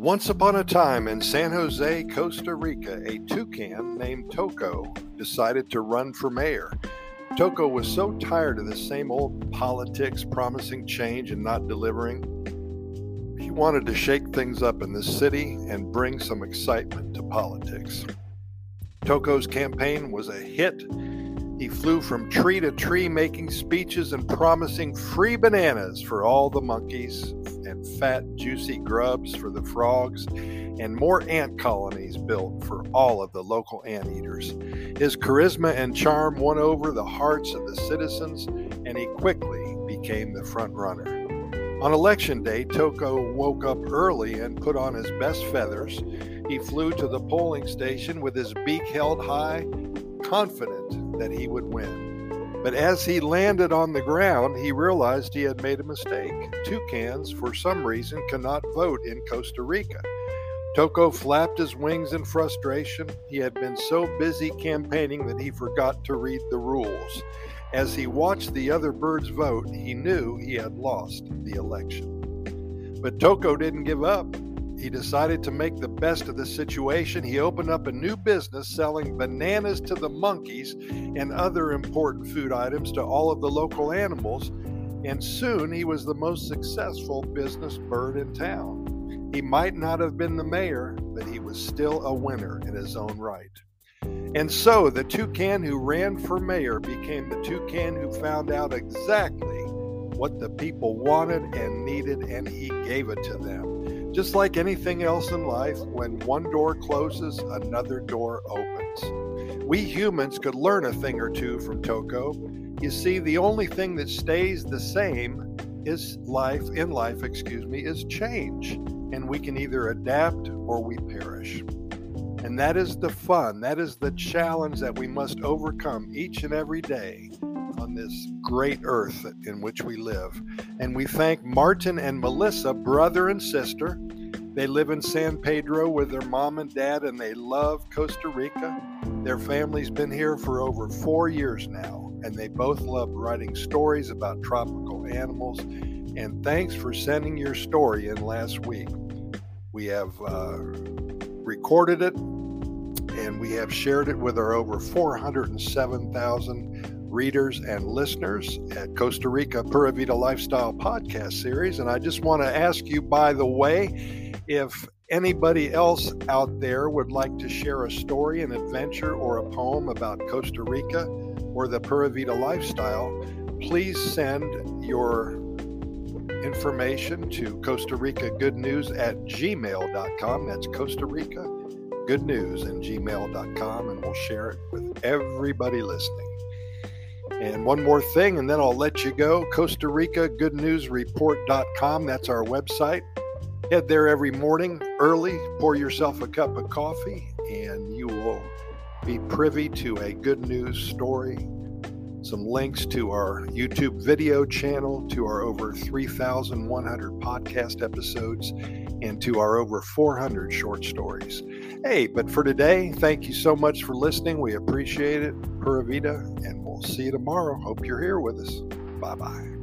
Once upon a time in San Jose, Costa Rica, a toucan named Toko decided to run for mayor. Toko was so tired of the same old politics, promising change and not delivering. He wanted to shake things up in the city and bring some excitement to politics. Toko's campaign was a hit. He flew from tree to tree making speeches and promising free bananas for all the monkeys and fat, juicy grubs for the frogs and more ant colonies built for all of the local anteaters. His charisma and charm won over the hearts of the citizens, and he quickly became the front runner. On election day, Toko woke up early and put on his best feathers. He flew to the polling station with his beak held high, confident that he would win. But as he landed on the ground, he realized he had made a mistake. Toucans, for some reason, cannot vote in Costa Rica. Toko flapped his wings in frustration. He had been so busy campaigning that he forgot to read the rules. As he watched the other birds vote, he knew he had lost the election. But Toko didn't give up. He decided to make the best of the situation. He opened up a new business selling bananas to the monkeys and other important food items to all of the local animals, and soon he was the most successful business bird in town. He might not have been the mayor, but he was still a winner in his own right. And so the toucan who ran for mayor became the toucan who found out exactly what the people wanted and needed, and he gave it to them. Just like anything else in life, when one door closes, another door opens. We humans could learn a thing or two from Toko. You see, the only thing that stays the same is is change. And we can either adapt or we perish. And that is the fun, that is the challenge that we must overcome each and every day on this great earth in which we live. And we thank Martin and Melissa, brother and sister. They live in San Pedro with their mom and dad, and they love Costa Rica. Their family's been here for over 4 years now, and they both love writing stories about tropical animals. And thanks for sending your story in last week. We have recorded it, and we have shared it with our over 407,000 readers and listeners at Costa Rica Pura Vida Lifestyle podcast series. And I just want to ask you, by the way, if anybody else out there would like to share a story, an adventure, or a poem about Costa Rica or the Pura Vida lifestyle, please send your information to Costa Rica Good News at gmail.com. That's Costa Rica Good News at gmail.com, and we'll share it with everybody listening. And one more thing, and then I'll let you go. Costa Rica Good News Report.com. That's our website. Head there every morning early, pour yourself a cup of coffee, and you will be privy to a good news story, some links to our YouTube video channel, to our over 3,100 podcast episodes, and to our over 400 short stories. Hey, but for today, thank you so much for listening. We appreciate it. Pura Vida, and we'll see you tomorrow. Hope you're here with us. Bye-bye.